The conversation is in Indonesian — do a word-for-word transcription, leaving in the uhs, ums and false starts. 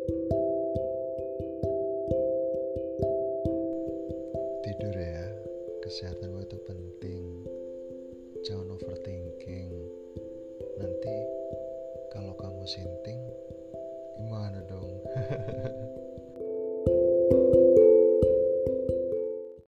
Tidur ya, kesehatanmu itu penting. Jangan overthinking. Nanti kalau kamu sinting, gimana dong?